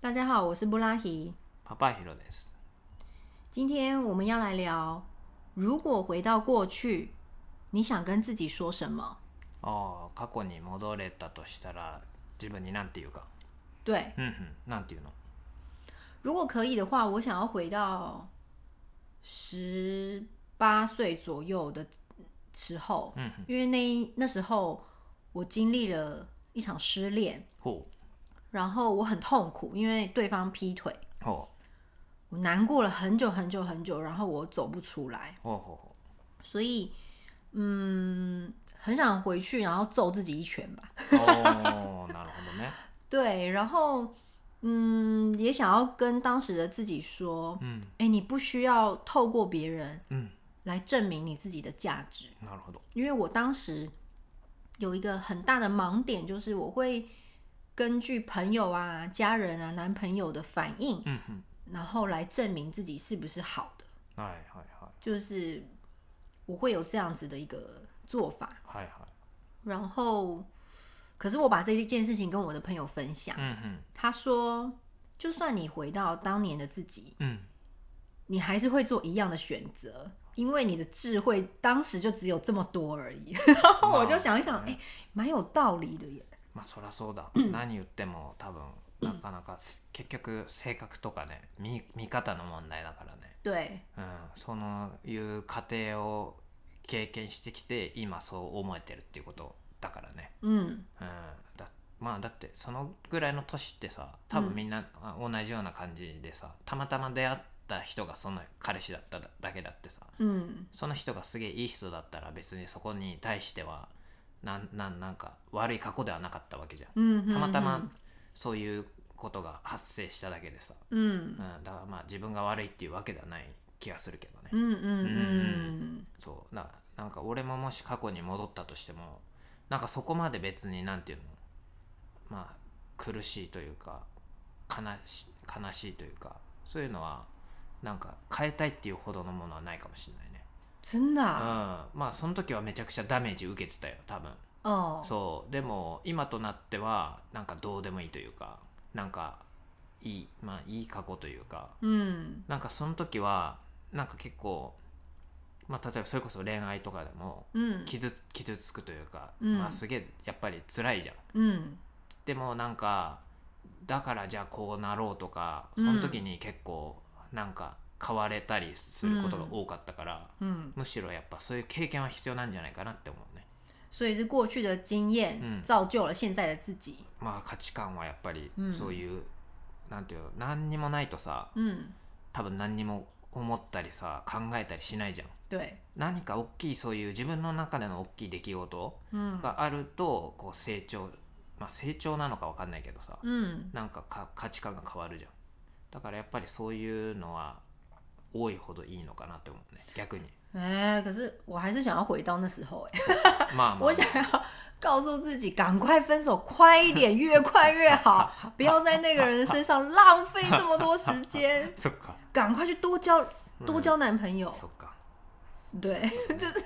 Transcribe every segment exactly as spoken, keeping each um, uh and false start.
大家好，我是布拉希。 パパヒロです。 今天我们要来聊，如果回到过去，你想跟自己说什么？ ああ、過去に戻れたとしたら自分に何て言うか。 对， うんうん、なんて言うの？ 如果可以的话，我想要回到十八岁左右的时候， 嗯因为那那时候我经历了一场失恋， ほ然后我很痛苦，因为对方劈腿， うほ我难过了很久很久很久，然后我走不出来， うほうほ所以嗯，很想回去，然后揍自己一拳吧。 う。おー、なるほどね。 对，然后嗯，也想要跟当时的自己说， うん哎、你不需要透过别人うん、 来证明你自己的价值， なるほど。 因为我当时有一个很大的盲点，就是我会根据朋友啊、家人啊、男朋友的反应， うんうん、 然后来证明自己是不是好的， はいはいはい就是我会有这样子的一个做法。 はいはい。 然后，可是我把这一件事情跟我的朋友分享， うんうん他说，就算你回到当年的自己， うん。 你还是会做一样的选择，因为你的智慧当时就只有这么多而已。然后我就想一想，哎、蛮有道理的耶。 まあそりゃそうだ。何言っても多分なかなか結局性格とかね、見見方の問題だからね。 对， うん、そのいう過程を経験してきて今そう思えてるっていうことだからね。 嗯うん、だまあだってそのぐらいの年ってさ、多分みんな同じような感じでさ、たまたま出会った人がその彼氏だっただけだってさ、 嗯その人がすげえいい人だったら別にそこに対してはなんなんなんか悪い過去ではなかったわけじゃん。 嗯， たまたまそういうことが発生しただけでさ、 嗯うん、だからまあ自分が悪いっていうわけではない気がするけどね。 嗯嗯嗯そうだなんか俺ももし過去に戻ったとしてもなんかそこまで別になんていうのまあ苦しいというか悲し悲しいというかそういうのはなんか変えたいっていうほどのものはないかもしれないね。 真的啊？ うん、まあその時はめちゃくちゃダメージ受けてたよ多分。 哦， そうでも今となってはなんかどうでもいいというかなんかいいまあいい過去というか嗯なんかその時はなんか結構まあ例えばそれこそ恋愛とかでも嗯傷つ傷つくというか、 うんまあすげえやっぱり辛いじゃん。 嗯でもなんかだからじゃあこうなろうとかその時に結構なんか変われたりすることが多かったから、 嗯， むしろやっぱそういう経験は必要なんじゃないかなって思うね。 所以是过去的经验嗯造就了现在的自己。 まあ価値観はやっぱりうんそういう、なんていうの何にもないとさ嗯， 多分何にも思ったりさ考えたりしないじゃん。 对， 何か大きいそういう自分の中での大きい出来事嗯があるとこう成長まあ成長なのか分かんないけどさ、 嗯なんかか価値観が変わるじゃん。だからやっぱりそういうのは多いほどいいのかなって思うね逆に。 哎、可是我还是想要回到那时候、哎， まあまあ我想要告诉自己，赶快分手，快一点，越快越好，不要在那个人身上浪费这么多时间， そっか赶快去多交多交男朋友。 そっか对，就是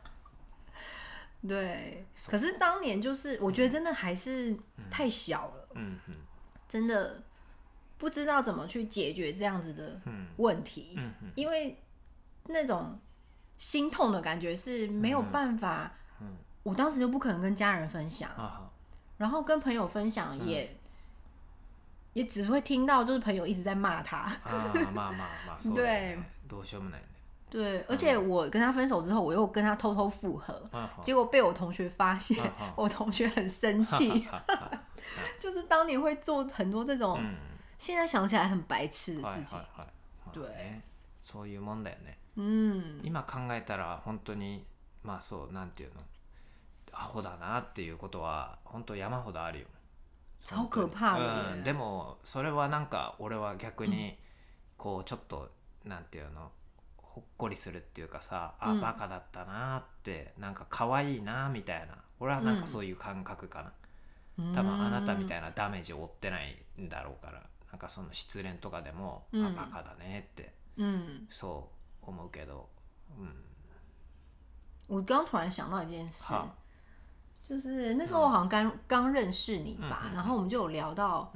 对。可是当年就是，我觉得真的还是太小了， うんうん真的不知道怎么去解决这样子的うん问题， うんうん因为那种心痛的感觉是没有办法， うん我当时就不可能跟家人分享， あ然后跟朋友分享也、也只会听到就是朋友一直在骂他， あーまあまあまあそうだよね。どうしようもないね。 对，而且我跟他分手之后，我又跟他偷偷复合， あ结果被我同学发现， 嗯我同学很生气，就是当年会做很多这种、 うん现在想起来很白痴的はい事情， はいはい。まあ对ねそういうもんだよね。 嗯， 今考えたら本当にまあそうなんていうのアホだなっていうことは本当山ほどあるよ。 超可怕的耶、 うん、でもそれはなんか俺は逆にこうちょっとなんていうのほっこりするっていうかさ、あうんバカだったなってなんか可愛いなみたいな俺はなんかそういう感覚かな、多分あなたみたいなダメージを負ってないんだろうからなんかその失恋とかでも、 うんあバカだねって嗯， そう思うけど、うん我刚突然想到一件事好， 就是那时候我好像刚刚认识你吧， 嗯嗯嗯然后我们就有聊到， うん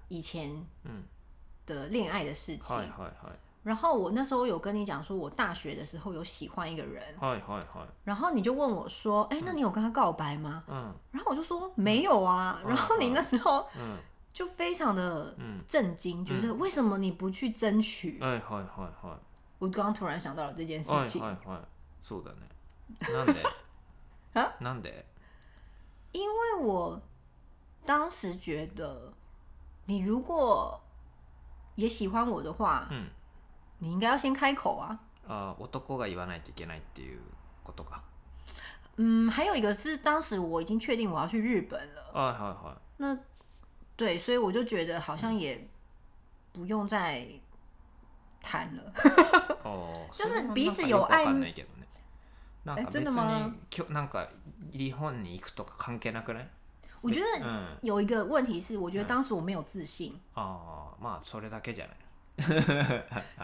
以前的恋愛的事情。 はいはいはい。 然后我那时候有跟你讲说，我大学的时候有喜欢一个人， はいはいはい。 然后你就问我说，哎、那你有跟他告白吗？ 嗯。 然后我就说没有啊。 嗯然后你那时候嗯。 就非常的震惊，觉得为什么你不去争取？ はいはいはいはい。 我刚刚突然想到了这件事情。 はいはいはい。そうだね。なんで？ 啊？ なんで？ 因为我当时觉得，你如果也喜欢我的话，嗯，你应该要先开口啊。 啊，男が言わないといけないっていうことか。 嗯，还有一个是当时我已经确定我要去日本了。 はいはいはい。 那对，所以我就觉得好像也不用再谈了。 哦， 就是彼此有愛。 なんか別になんか日本に行くとか関係なくない？ 我觉得有一个问题是，我觉得当时我没有自信。 ああ、まあそれだけじゃない。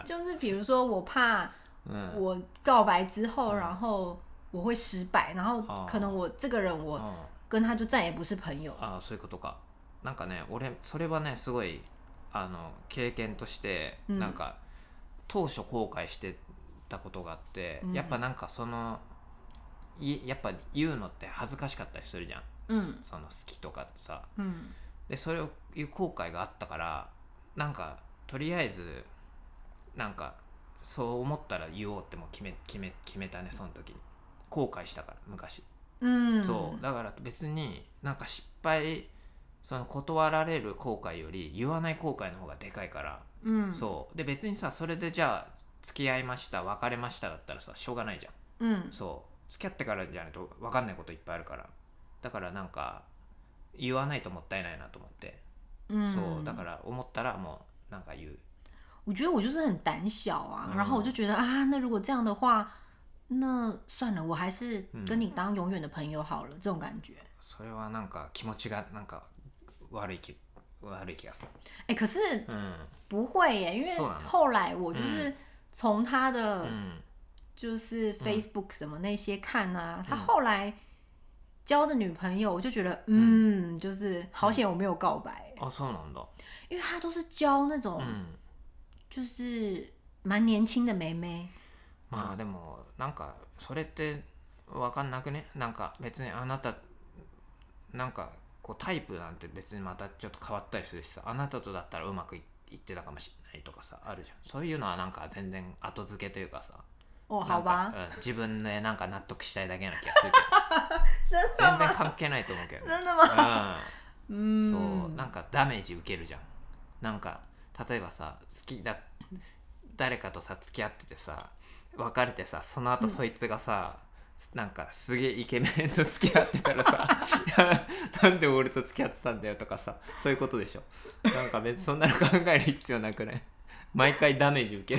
就是比如说，我怕我告白之后，然后我会失败，然后可能我这个人我跟他就再也不是朋友。 ああ、そういうことか。なんかね、俺それはねすごいあの経験としてなんか当初後悔してたことがあって、やっぱなんかそのやっぱ言うのって恥ずかしかったりするじゃん。うん、その好きとかさ、うん、でそれを言う後悔があったから、なんかとりあえずなんかそう思ったら言おうっても決め決め決めたね、その時に。後悔したから昔。うん、そうだから別になんか失敗、その断られる後悔より言わない後悔の方がでかいから、うん、そうで別にさ、それでじゃあ付き合いました別れましただったらさしょうがないじゃん。うん、そう付き合ってからじゃないと分かんないこといっぱいあるから。だからなんか言わないともったいないなと思って、うん、そうだから思ったらもうなんか言う。 我觉得我就是很胆小啊、嗯、然后我就觉得啊，那如果这样的话，那算了，我还是跟你当永远的朋友好了、嗯、这种感觉。 それはなんか気持ちがなんか悪い気悪い気がする。 哎、欸，可是不会耶，因为后来我就是从他的就是 Facebook 什么那些看啊，他后来交的女朋友，我就觉得嗯，就是好险我没有告白。 あ、そうなんだ。 因为他都是交那种就是蛮年轻的妹妹。 まあでもなんかそれって分かんなくね。なんか別にあなたなんかこうタイプなんて別にまたちょっと変わったりするしさ、あなたとだったらうまくいってたかもしれないとかさあるじゃん。そういうのはなんか全然後付けというかさ。 哦，好吧、 うん、自分でなんか納得したいだけな気がするけど全然関係ないと思うけど、ね、 真的吗？ うん、そうなんかダメージ受けるじゃん。なんか例えばさ、好きだ誰かとさ付き合っててさ別れてさ、その後そいつがさ、うん、なんかすげえイケメンと付き合ってたらさなんで俺と付き合ってたんだよとかさ、そういうことでしょ。なんか別にそんなの考える必要なくない？毎回ダメージ受ける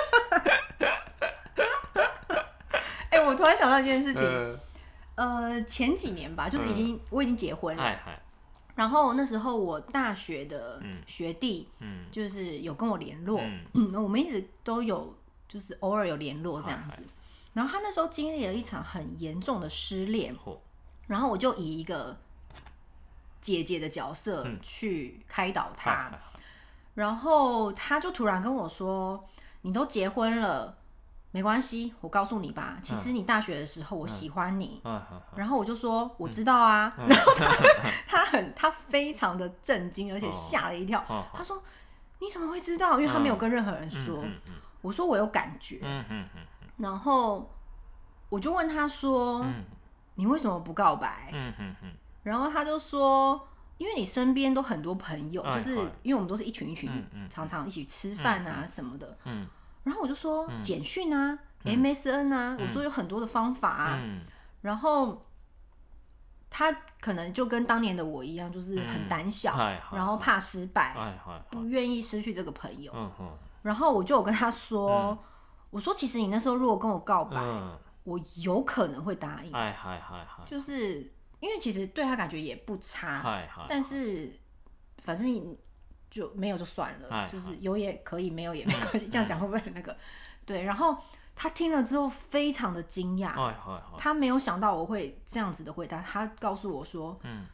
哎、欸，我突然想到一件事情，呃，呃前几年吧，就是已经、嗯、我已经结婚了，哎哎然后那时候我大学的学弟，嗯，就是有跟我联络，嗯，嗯我们一直都有就是偶尔有联络这样子。然后他那时候经历了一场很严重的失恋，然后我就以一个姐姐的角色去开导他，嗯、然后他就突然跟我说：“你都结婚了。”没关系，我告诉你吧，其实你大学的时候我喜欢你，嗯嗯、然后我就说我知道啊，嗯、然后他他很他非常的震惊，而且吓了一跳，哦、他说你怎么会知道？因为他没有跟任何人说，嗯嗯嗯、我说我有感觉，嗯嗯嗯、然后我就问他说，嗯、你为什么不告白？嗯嗯嗯、然后他就说。因为你身边都很多朋友，就是因为我们都是一群一群，嗯、常常一起吃饭啊什么的。嗯然后我就说简讯啊、嗯、M S N 啊、嗯、我说有很多的方法啊、嗯、然后他可能就跟当年的我一样，就是很胆小、嗯、然后怕失败、嗯、不愿意失去这个朋友、嗯、然后我就有跟他说、嗯、我说其实你那时候如果跟我告白、嗯、我有可能会答应、嗯、就是因为其实对他感觉也不差、嗯、但是反正就没有就算了，就是有也可以，没有也没关系。这样讲会不会很那个？对，然后他听了之后非常的惊讶，他没有想到我会这样子的回答。他告诉我说：“嗯，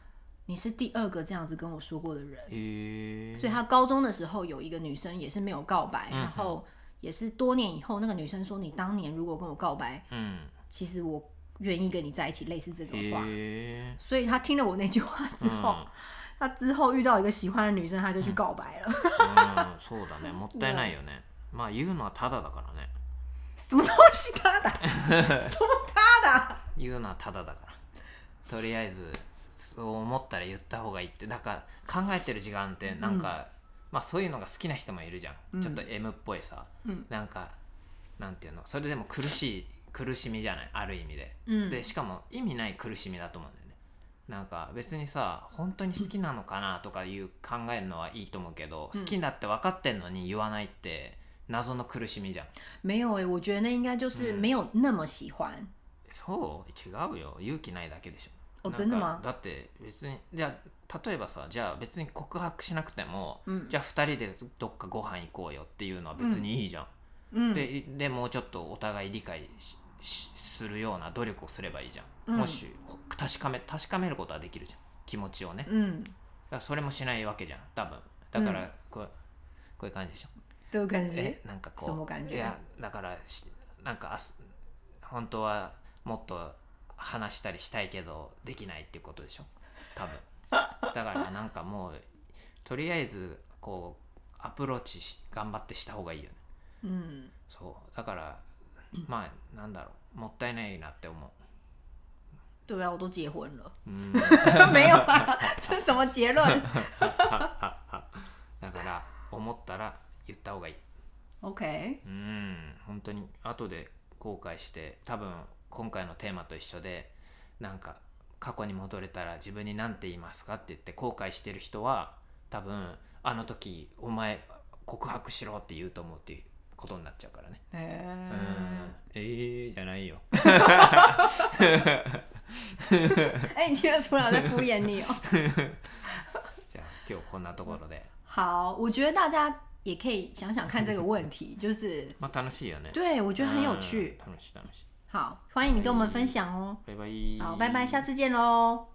你是第二个这样子跟我说过的人。 欸、 所以他高中的时候有一个女生也是没有告白，嗯、然后也是多年以后那个女生说你当年如果跟我告白，嗯，其实我愿意跟你在一起，类似这种话。欸、所以他听了我那句话之后、嗯、他之后遇到一个喜欢的女生他就去告白了。 うん、そうだね、もったいないよね。まあ言うのはただだからね。 什么东西ただ什么ただ言うのはただだから。とりあえずそう思ったら言った方がいいって。だから考えてる時間ってなんか、うん、まあそういうのが好きな人もいるじゃん、うん、ちょっと M っぽいさ、うん、なんかなんていうの、それでも苦しい苦しみじゃない、ある意味で、うん、でしかも意味ない苦しみだと思うんだよね。なんか別にさ本当に好きなのかなとかいう考えるのはいいと思うけど、うん、好きだって分かってんのに言わないって謎の苦しみじゃん。 没有欸，我觉得那应该就是没有那么喜欢、うん、 そう違うよ、勇気ないだけでしょ。 哦，真的吗？ だって別に、じゃあ例えばさ、じゃあ別に告白しなくても、うん、じゃあふたりでどっかご飯行こうよっていうのは別にいいじゃん、うん、で, でもうちょっとお互い理解 し, しするような努力をすればいいじゃん、うん、もし確かめ確かめることはできるじゃん、気持ちをね、うん、だからそれもしないわけじゃん多分。だからこう、うん、こういう感じでしょ。 どういう感じ？ えなんかこう、什么感觉？いやだからなんか本当はもっと話したりしたいけどできないっていうことでしょ多分。だからなんかもうとりあえずこうアプローチし頑張ってした方がいいよね、うん、そうだからまあなんだろう、もったいないなって思う。 对啊，我都结婚了。嗯、没有啊，这是什么结論？ だから思ったら言った方がいい。 OK。 うん、本当に後で後悔して多分。今回のテーマと一緒で、なんか過去に戻れたら自分に何て言いますかって言って後悔してる人は多分あの時お前告白しろって言うと思うっていうことになっちゃうからね。へー、うん、えーじゃないよ。 哎，你听得出来我在敷衍你哦。 じゃあ今日こんなところで。 好，我觉得大家也可以想想看这个问题，就是まあ楽しいよね。 对，我觉得很有趣。 楽しい楽しい。 好，欢迎你跟我们分享哦。 拜拜。 好，拜拜，下次见喽。